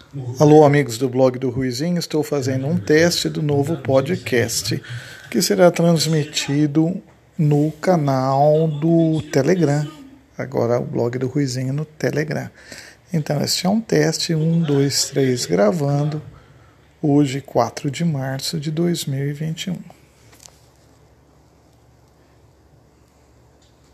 Alô, amigos do blog do Ruizinho, estou fazendo um teste do novo podcast que será transmitido no canal do Telegram. Agora o blog do Ruizinho no Telegram. Então, este é um teste, 1, 2, 3, gravando, hoje 4 de março de 2021.